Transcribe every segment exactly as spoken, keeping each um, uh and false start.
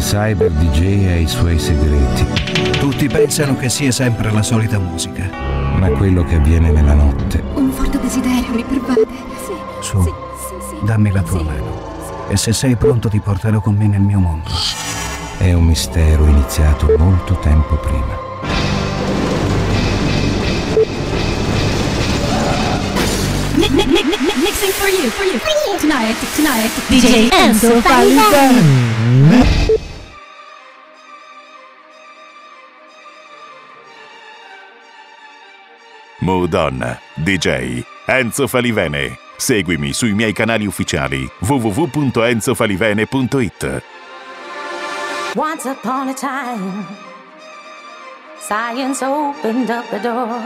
Cyber D J ha i suoi segreti. Tutti pensano che sia sempre la solita musica. Ma quello che avviene nella notte... Un forte desiderio mi pervade. Sì, Su, sì, sì, sì. dammi la tua Sì. mano. E se sei pronto ti porterò con me nel mio mondo. È un mistero iniziato molto tempo prima. Mixing for you, for you, for you. Tonight, tonight, D J Enzo Falivene. Madonna, D J Enzo Falivene. Seguimi sui miei canali ufficiali w w w punto enzo falivene punto it. Once upon a time, science opened up the door.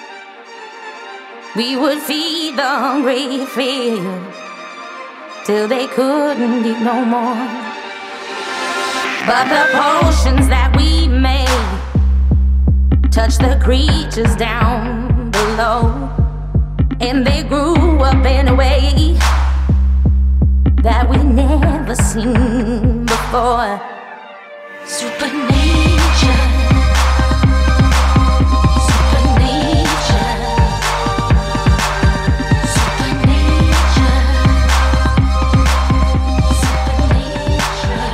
We would feed the hungry field till they couldn't eat no more. But the potions that we made touched the creatures down below, and they grew up in a way that we never seen before. Supernature, supernature, supernature, supernature.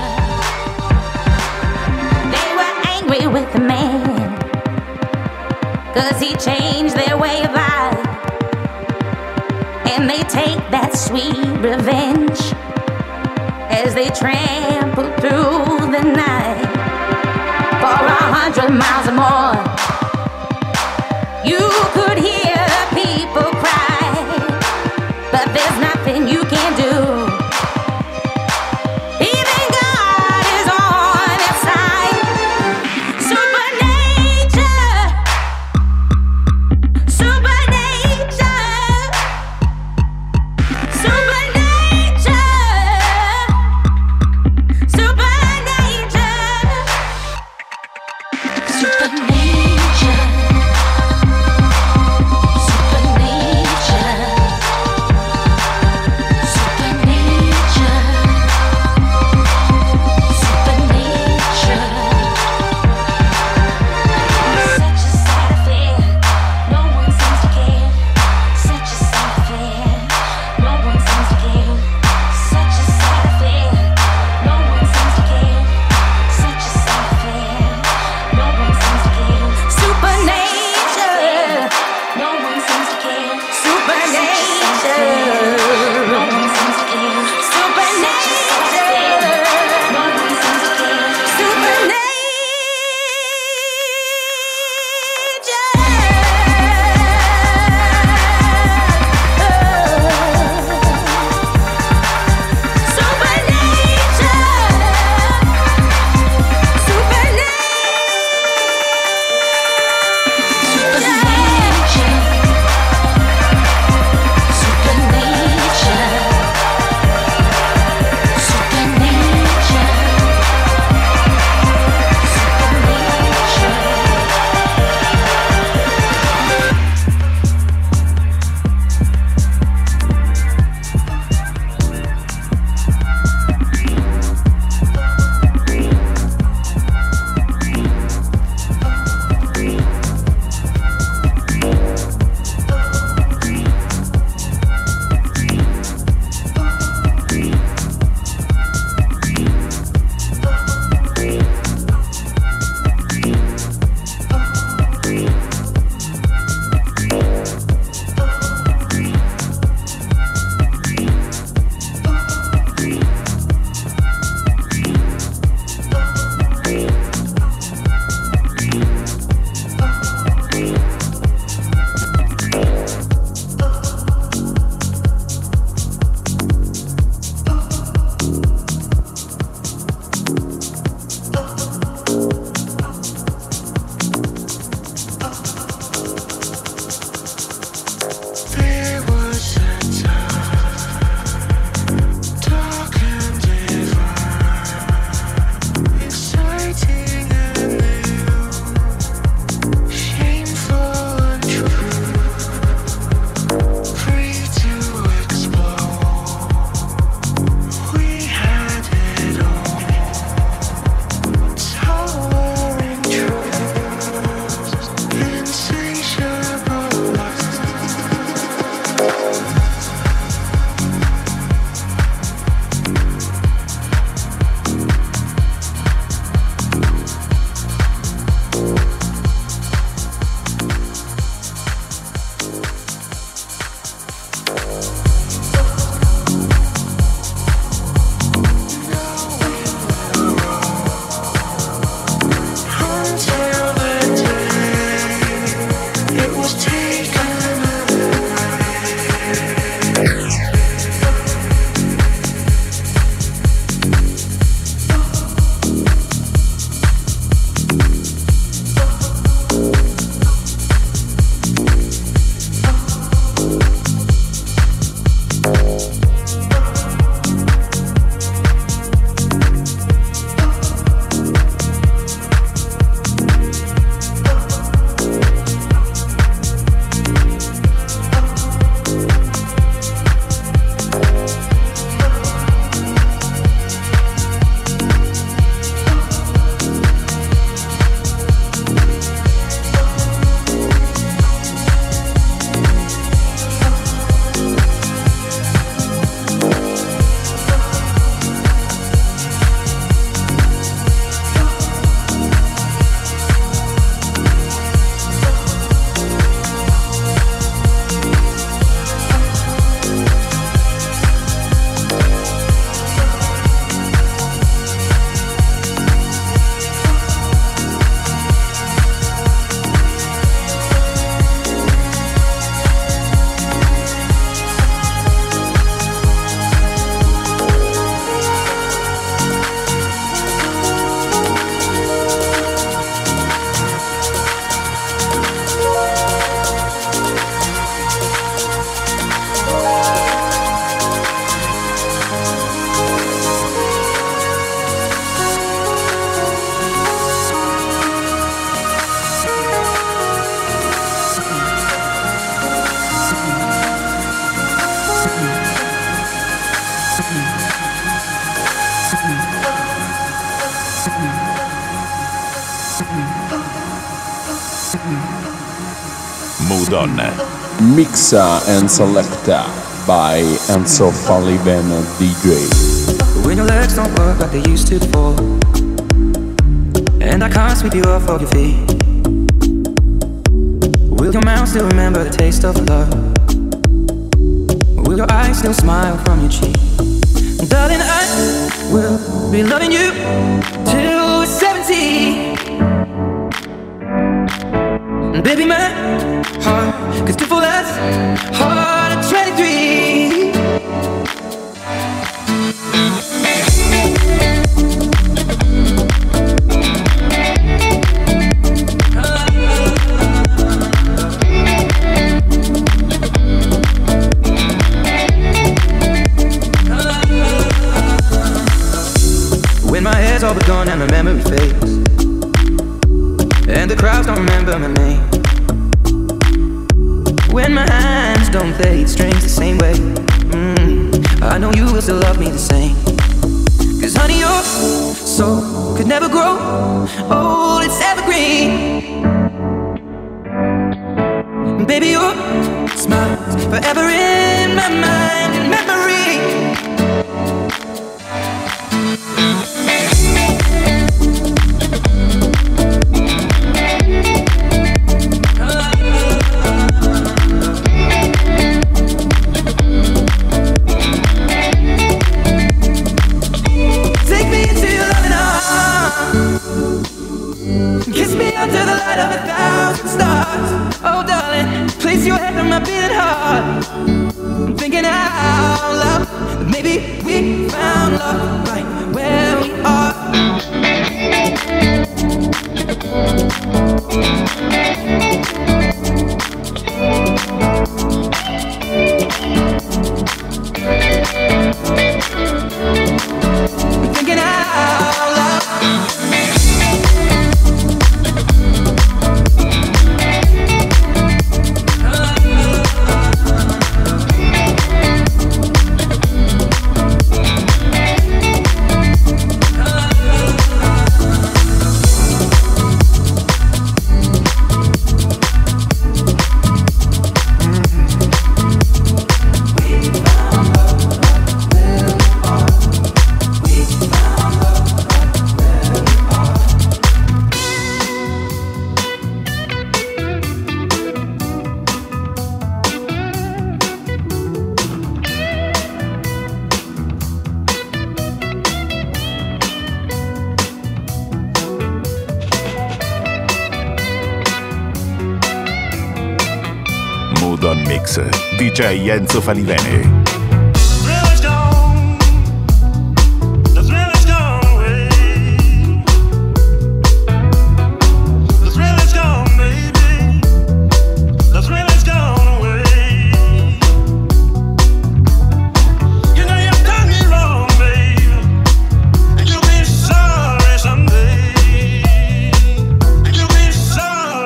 They were angry with the man, 'cause he changed their way of life. And they take that sweet revenge as they trample through the night for a hundred miles or more. You could hear people cry, but there's nothing you can do. Even God is on its side. Supernature, supernature, supernature, supernature, supernature, supernature, supernature. Mood On. Mixa and Selecta by Enzo Falivene D J. When your legs don't work like they used to before, and I can't sweep you off of your feet, will your mouth still remember the taste of love? Will your eyes still smile from your cheek? Darling, I will be loving you till we're seventy. Baby, my heart could still fall as hard at twenty-three. When my hair's all but gone and the memory fades, and the crowds don't remember my name, when my hands don't play strings the same way, mm, I know you will still love me the same. Cause honey, your soul could never grow old, it's evergreen. Baby, your smile's forever in my mind and memory. Under the light of a thousand stars, oh darling, place your head on my beating heart. I'm thinking out loud that maybe we found love right where we are. I'm thinking out loud. Mood On Mix, D J Enzo Falivene.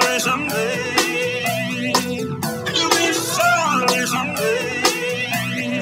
Someday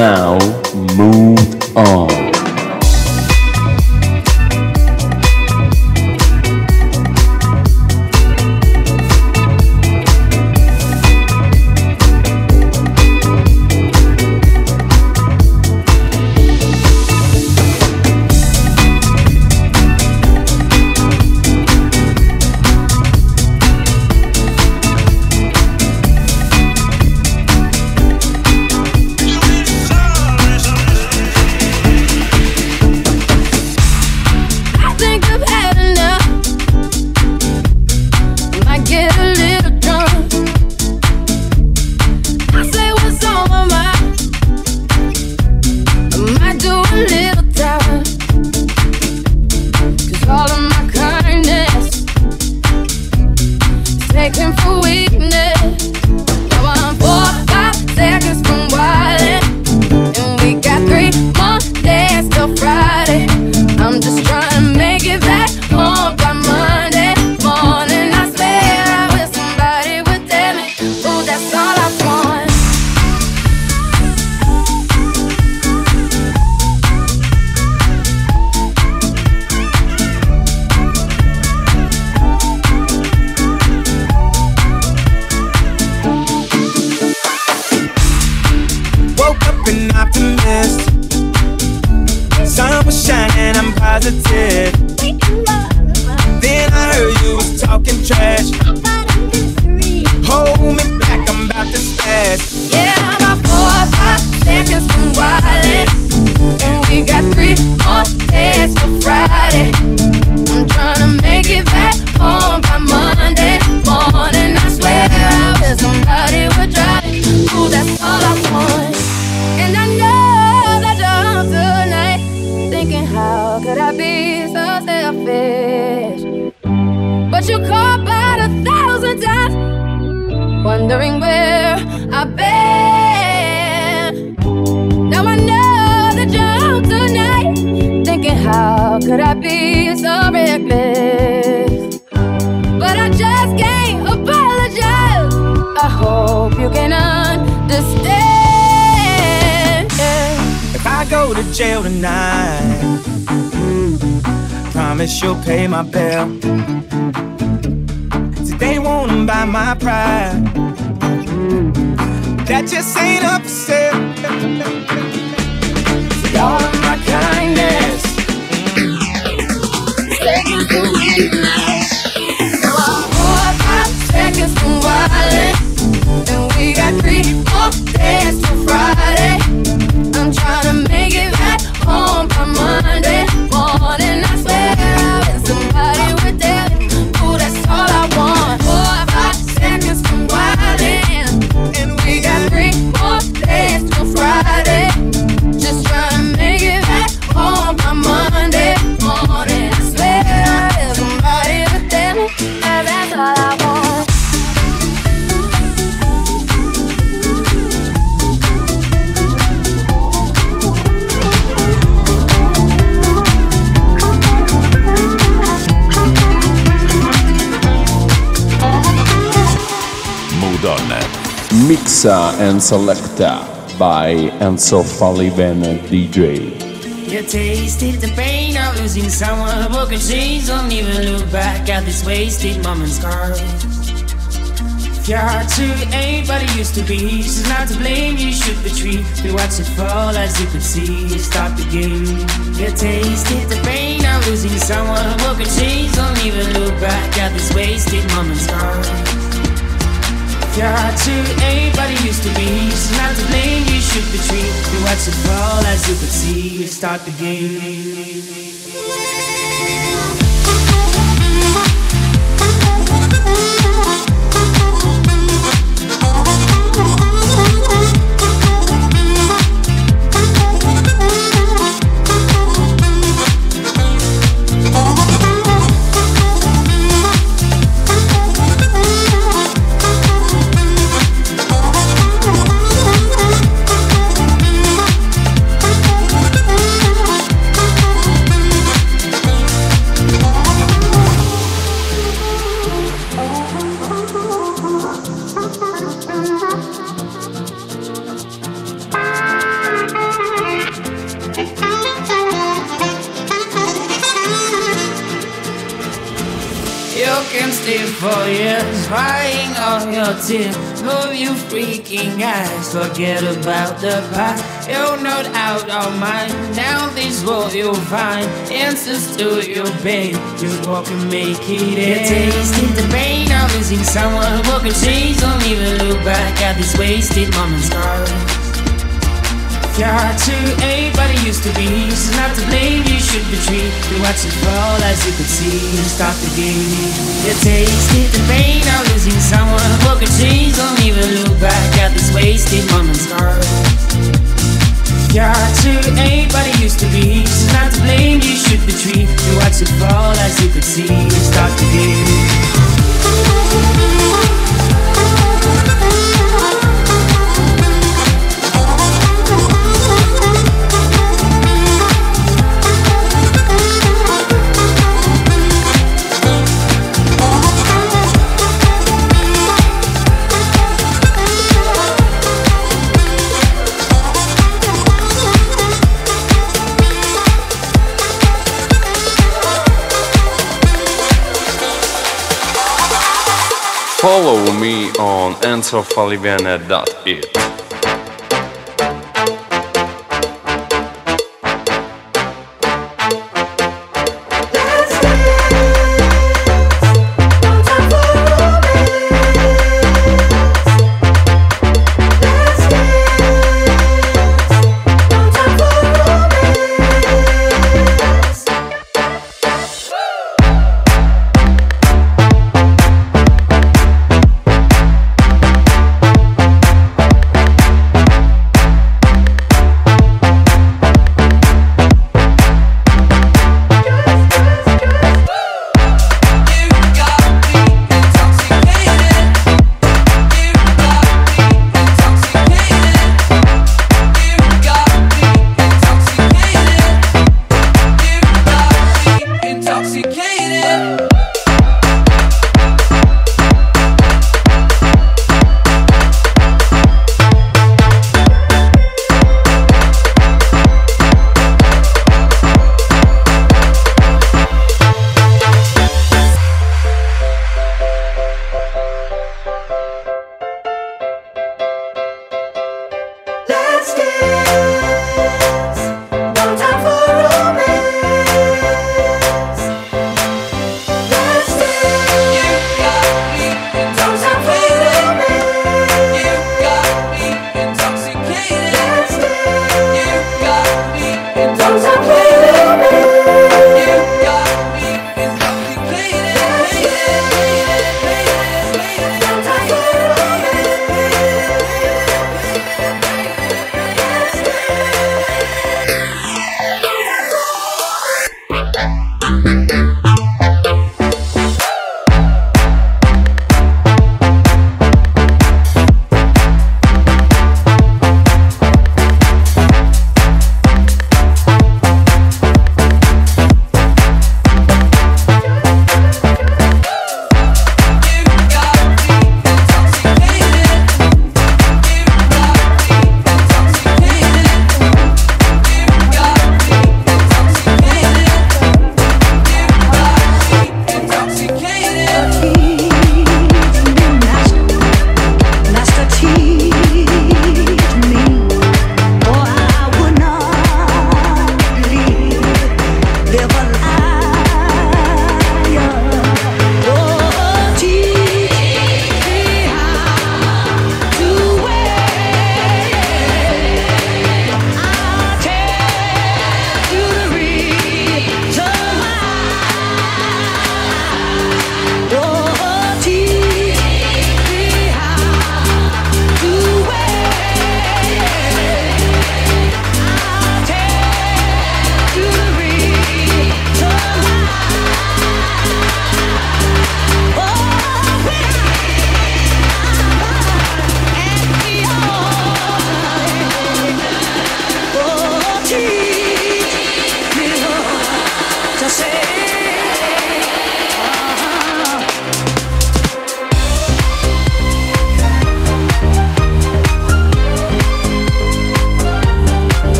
now, move on. You'll pay my bill. See, they won't buy my pride. That just ain't up for sale. See, all of my kindness taking for weakness. So I'm four or five seconds from wildin', and we got three more days till Friday. I'm trying to make it back home by Monday morning. I swear somebody would tell me, ooh, that's all I want. Four or five seconds from wildin', and we got three more days till Friday. Just trying to make it back home by Monday morning. I swear somebody would tell me that that's all I want. Mixa and Selecta by Enzo Falliven D J. You tasted the pain of losing someone, broken chains. Don't even look back at this wasted moment's gone. If your heart truly ain't what it used to be, she's not to blame, you should retreat. We watch it fall as you could see, stop the game. You tasted the pain of losing someone, broken chains. Don't even look back at this wasted moment's gone. If your heart truly ain't what it used to be, she's not to blame, you should retreat. We watch it fall as you could see, start the game. You can stay for years, crying all your tears. Move you freaking eyes, forget about the past. You're not out of mind. Down this road you'll find answers to your pain. Just walk and make it end. You tasted the pain of losing someone who could change. Don't even look back at these wasted moments, girl. Your heart to anybody used to be. She's not to blame, you should be treated. You watch it fall as you could see. Stop the game. You tasted the pain of losing someone who could change. Don't even look back at these wasted moments, girl. Your heart to anybody used to be. She's not to blame, you should be treated. You watch it fall as you could see. Stop the game. Follow me on enzo falivene dot it.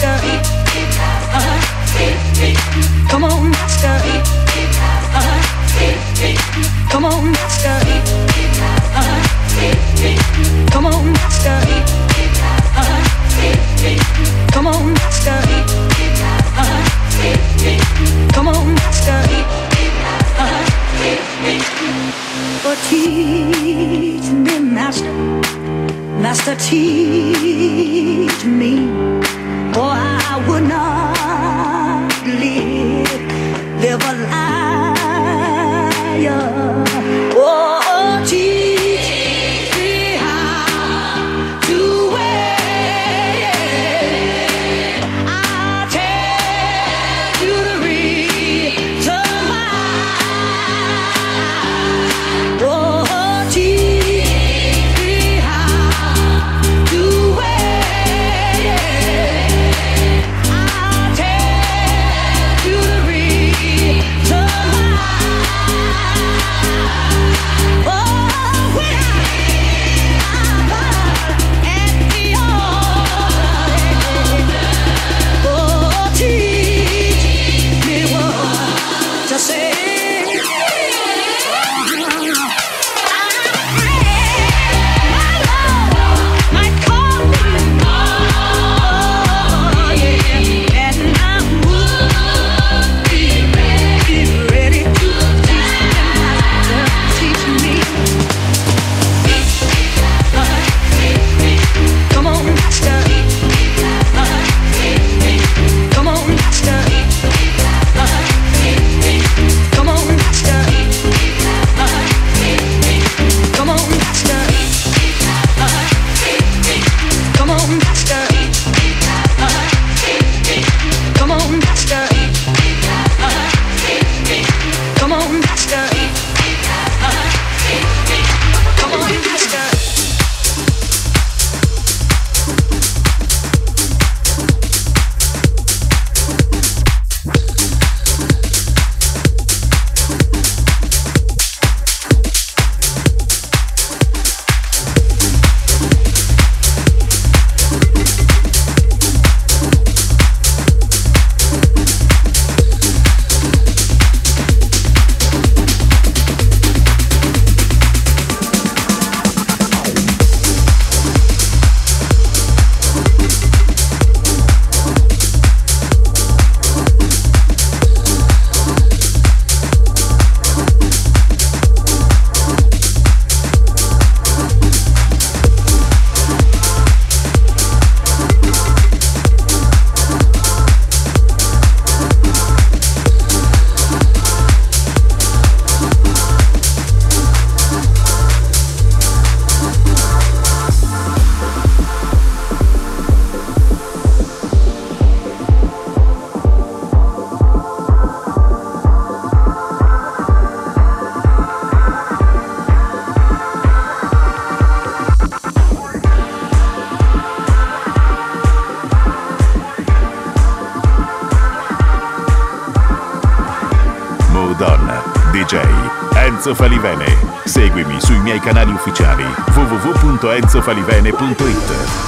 master. Uh-huh. Come on, master. Uh-huh. Come on, master. Uh-huh. Come on, master. Uh-huh. Come on, master. Uh-huh. Come on, master. Uh-huh. Oh, teach me, master. Master, teach me, or I would not live, live a liar. Oh, teach me how to wait. I'll tell you the reason why. Oh, teach me how to wait. I'll tell you the reason why. Oh, when I I'm at the altar, oh, teach me what to say. D J Enzo Falivene. Seguimi sui miei canali ufficiali w w w punto enzo falivene punto it.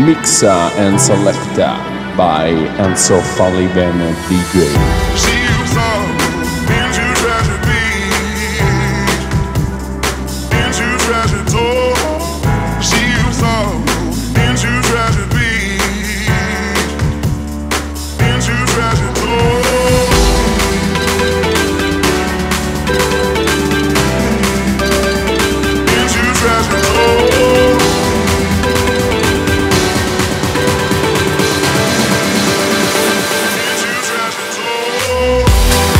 Mixa and Selecta by Enzo Falivene D J. Oh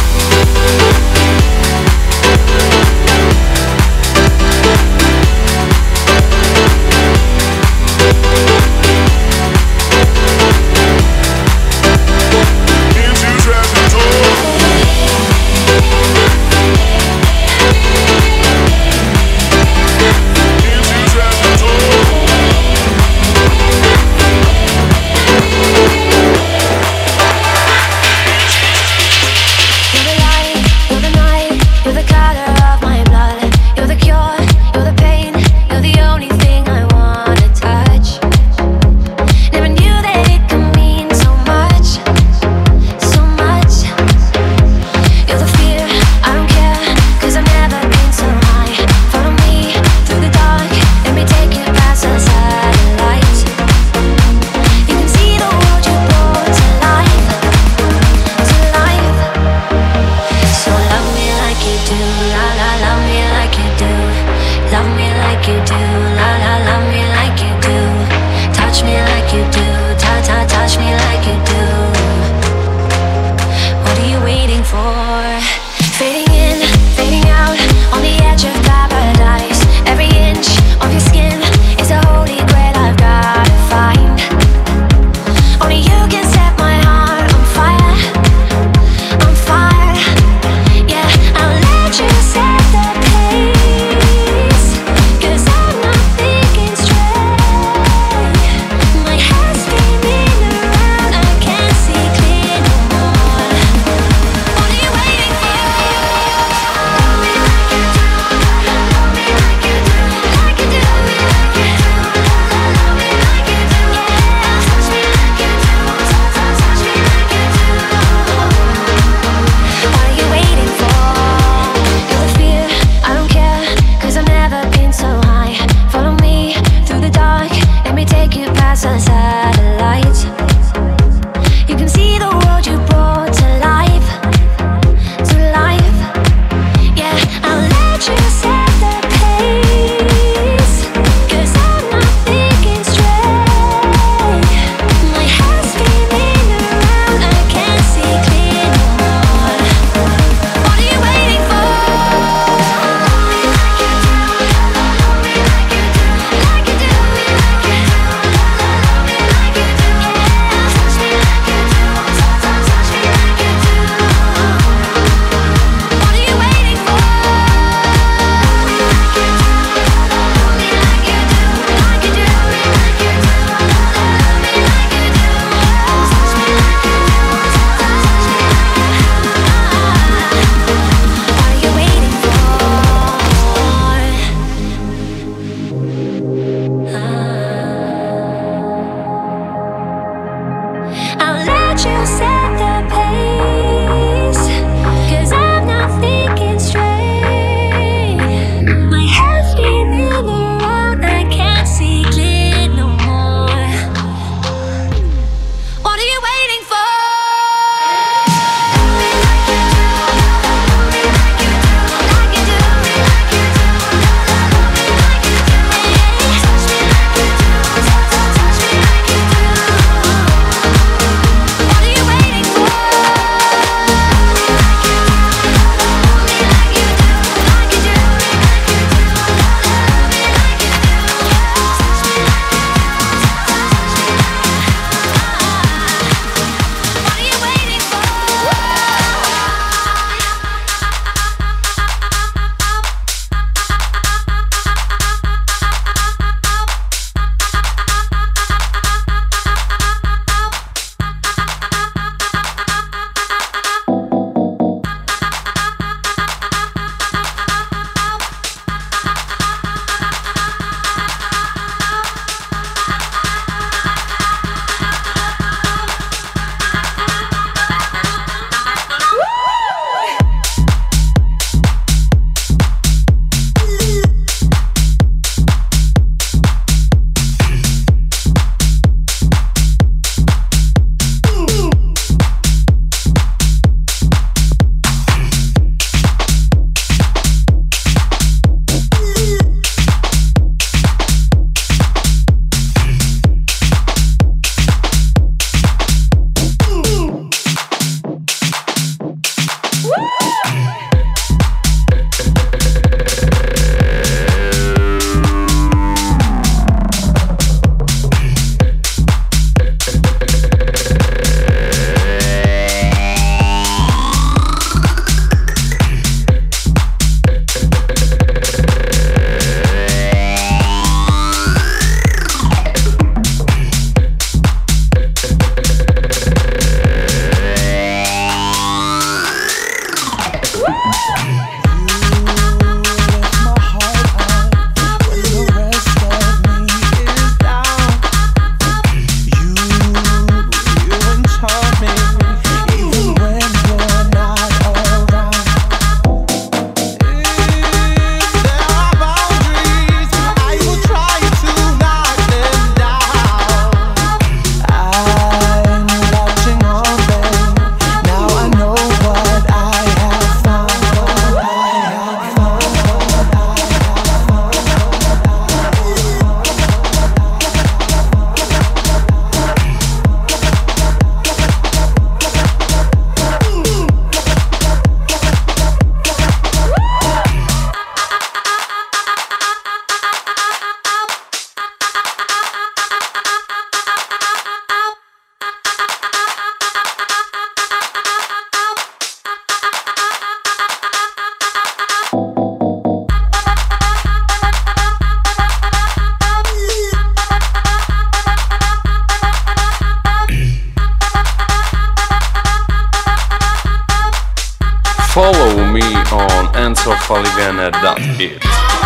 Follow me on enzo falivene dot it.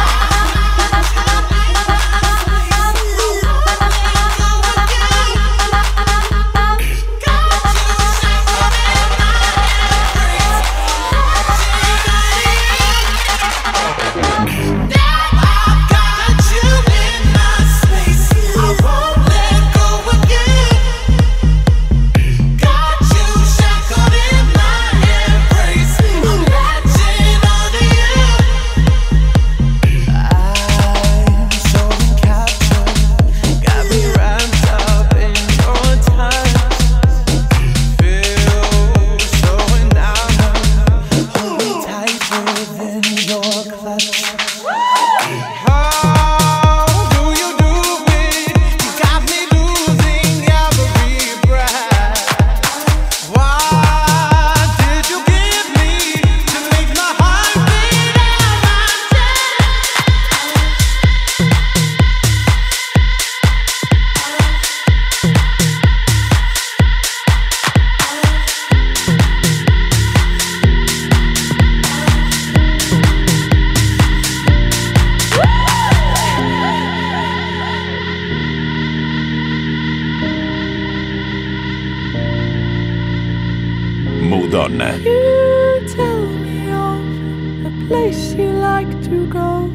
Donna. You tell me of a place you like to go.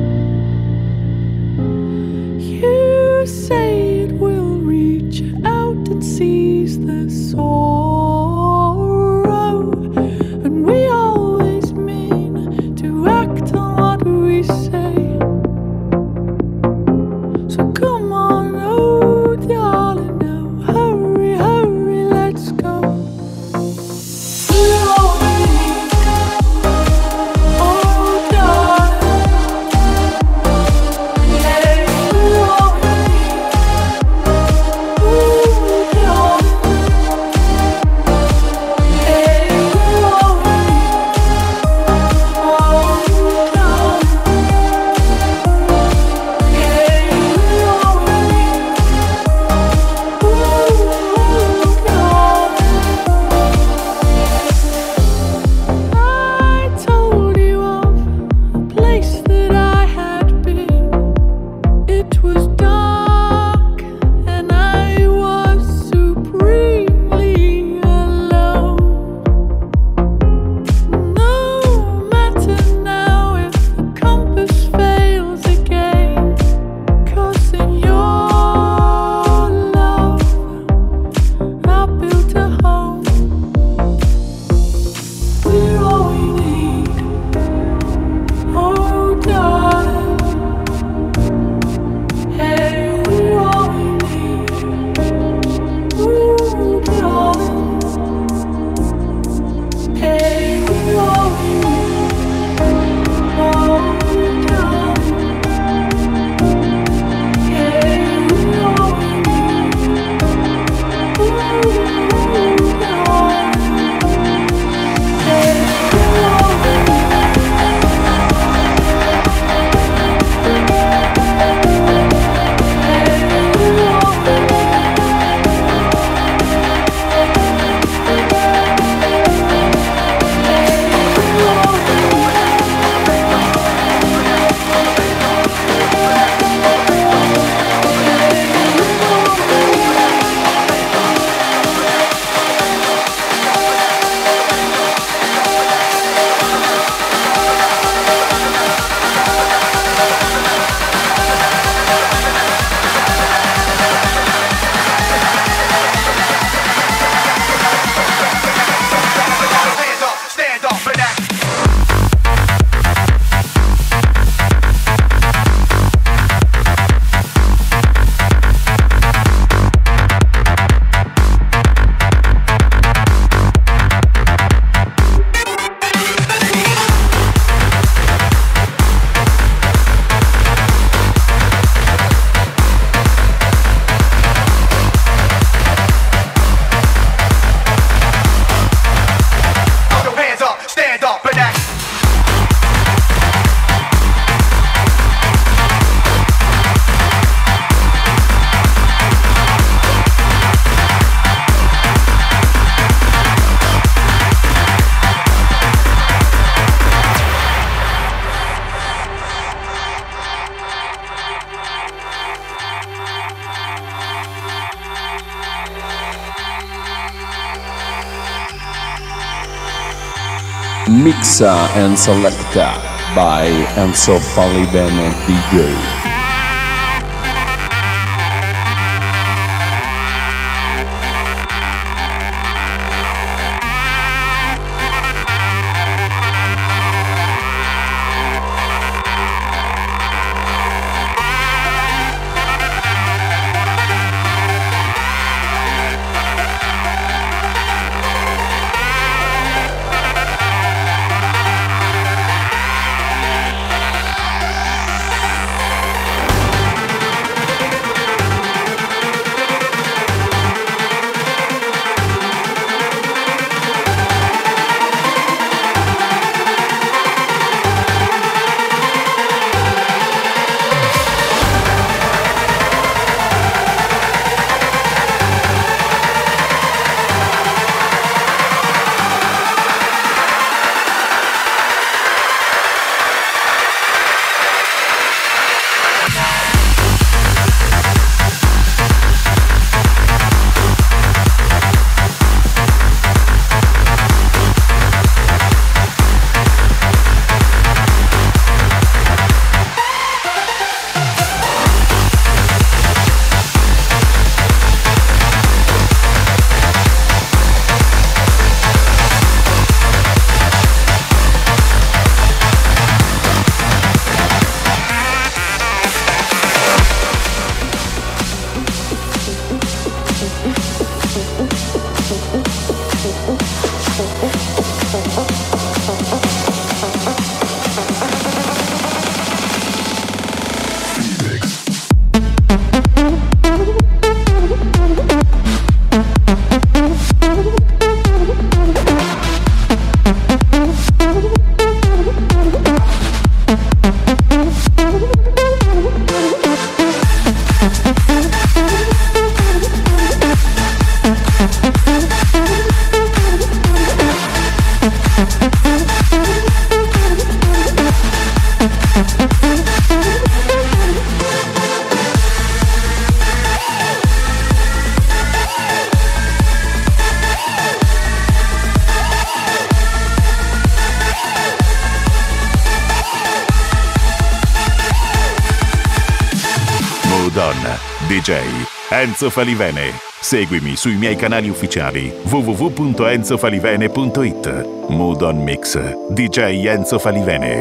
You say it will reach out and seize the sorrow, and we always mean to act on what we say. So come on, oh darling, now hurry, hurry, let's go. Ooh, Mixa and Selecta by Enzo Falivene D J. D J Enzo Falivene. Seguimi sui miei canali ufficiali w w w punto enzo falivene punto it. Mood on Mix D J Enzo Falivene.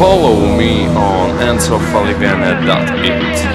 follow me on enzo falivene dot it.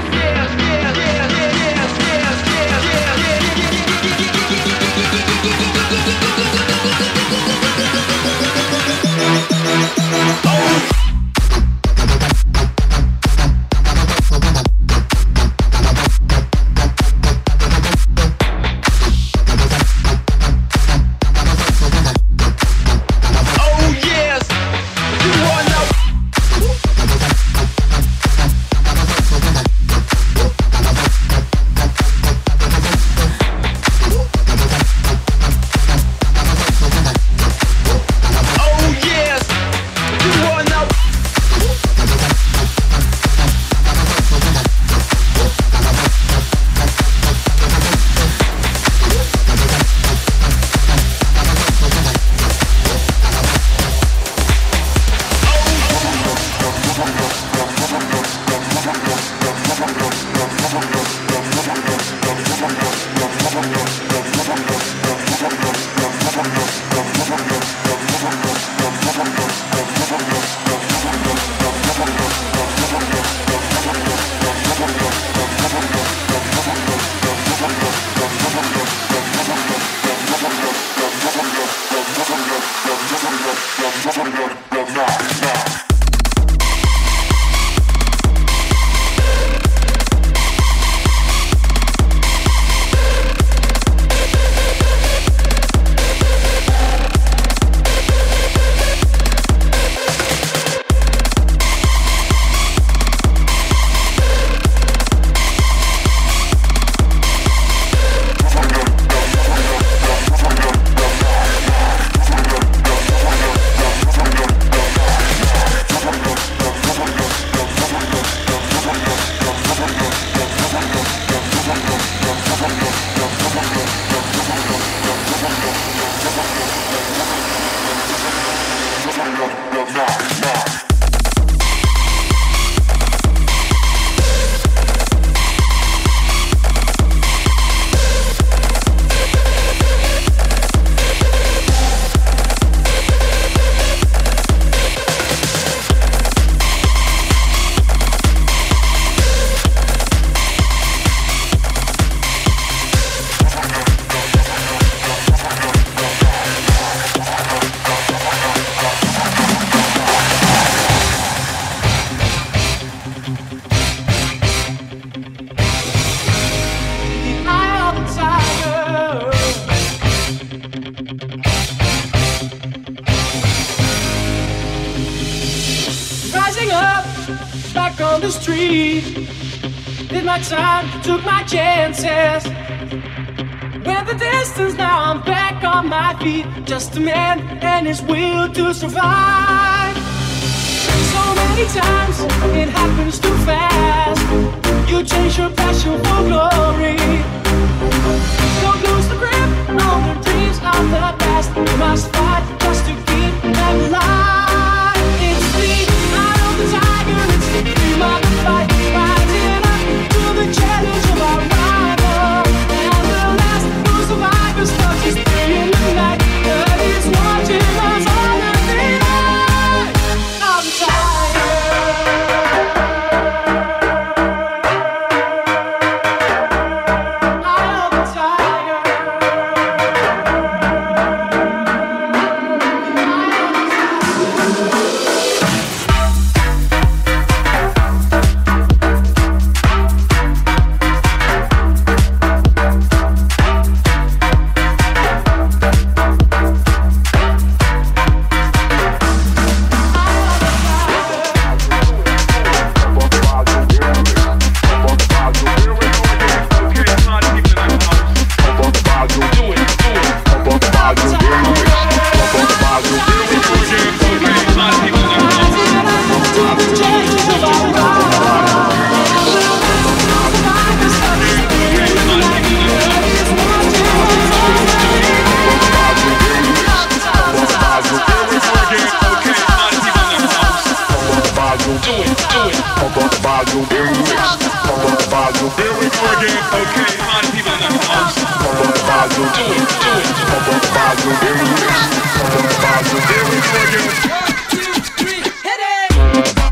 Took my chances. Went the distance, now I'm back on my feet. Just a man and his will to survive. So many times it happens too fast. You change your passion for glory. Don't lose the grip on the dreams of the past. You must fight just to keep them alive. It's the eye of the tiger, it's the dream of the fight. Rising up to the challenge of our rival. And the last who survivors touches three in the night. God is watching us all the night. I'm Here we go again. One, two, three, hit it!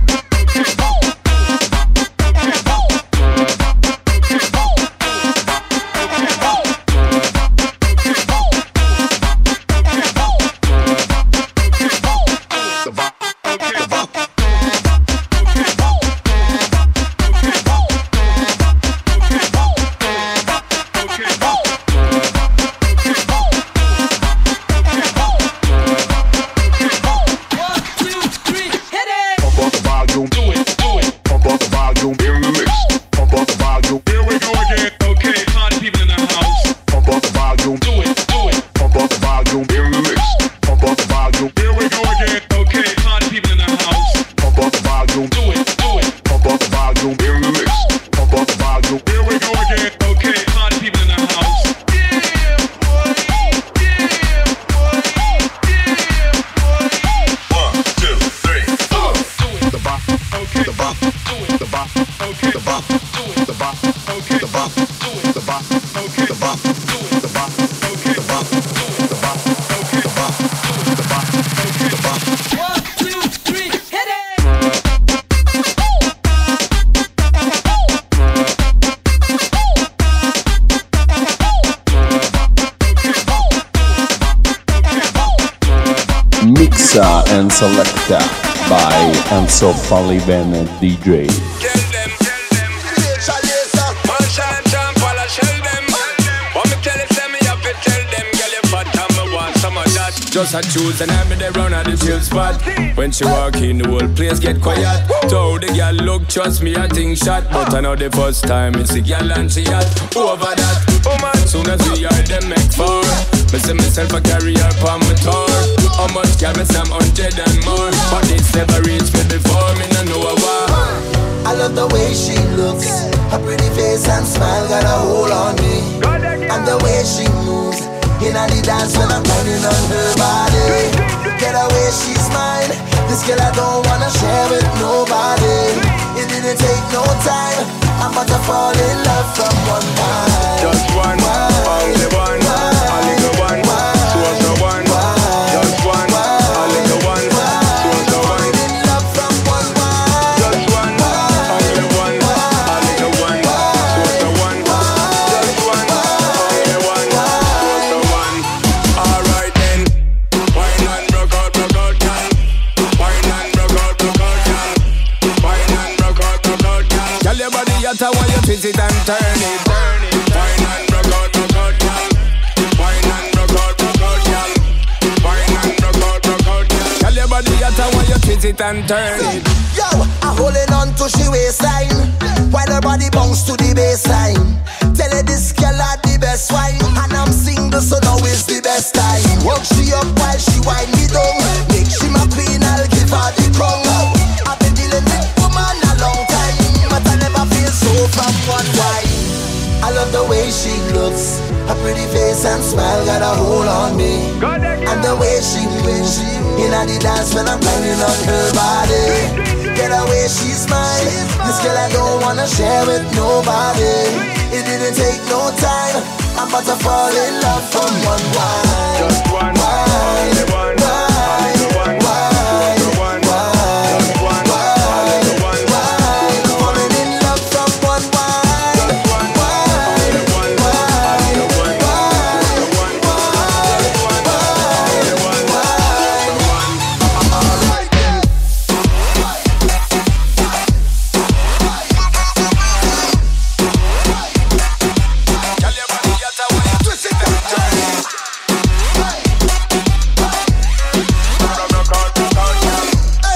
Mixata and selecta by Enzo Falivene D J. Just a choose and I'm in the round at the chill spot. When she walk in, the whole place get quiet. So the girl look, trust me, I think shot. But I know the first time it's the girl and she hot. Over that, oh man, soon as we are them make four. Me see myself a carry her on my tour. How much can me some hundred and more? But it's never reached me before, me no know a war. I love the way she looks. Her pretty face and smile got a hold on me. And the way she moves in the dance when I'm pounding on her body. Get away, she's mine. This girl I don't wanna share with nobody. It didn't take no time. I'm about to fall in love from one time. Just one, only one, only the one, two of the one. Just one, only the one, two of the one. In love from one one. Just one, only one, only the one, two of the one. Just one, only one. I want you twist it and turn it, turn it. Wine and rock out, rock out, girl. Wine and rock out, rock out, girl. Wine and rock out, rock out, girl. Tell your body that I want you twist it and turn it. Yo, I'm holding on to she waistline while her body bounce to the baseline. Tell her this girl had the best wine, and I'm single, so now is the best time. Work she up while she wind me down. Make she my queen, I'll give her the crown. I've been dealing with woman a long time, but I never feel so from one wife. I love the way she looks. Her pretty face and smile got a hold on me. And the way she moves in the dance when I'm pounding on her body. Get away, she's mine. This girl I don't wanna share with nobody. It didn't take no time. I'm about to fall in love from one wine. Just one, only one, only one, two of the one. Just one, only one, falling in love from one wine. just one, only one, only the one, two of the one. Just one, only one, two of the one. Alright then. Tell your body that I want you twist it and turn it. Rock out, rock out, girl.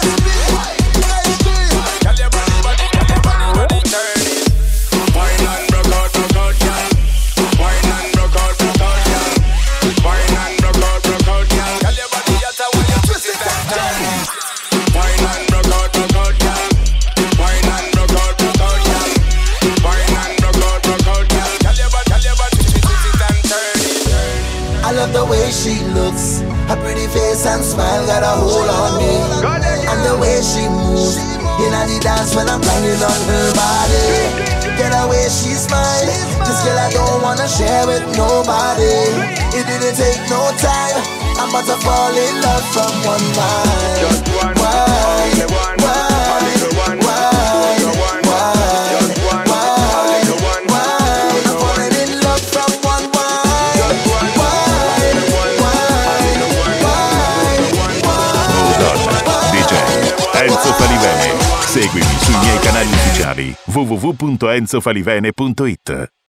Tell your body, body, tell your body, body, turn it. Wine and rock out, rock out, girl. Wine and rock out, rock out, girl. Wine and rock out, rock out, girl. Tell your body that I want you twist it and turn it. Wine and rock out, rock out, girl. Wine and rock out, rock out, girl. Wine and rock out, rock out, girl. Tell your body, tell your body, twist it and turn it. I love the way she looks. Her pretty face and smile got a hold on me. And the way she moves in the dance when I'm pounding on her body. Get away, she's mine. This girl I don't wanna share with nobody. It didn't take no time. I'm about to fall in love from one mind. Just one, only one, only the one, two of the one. Just one, only the one, two of the one. Falling in love from one wine. Just one, only the one, only the one, two of the one. Mood D J Enzo Falivene. Seguimi sui miei canali ufficiali w w w punto enzo falivene punto it.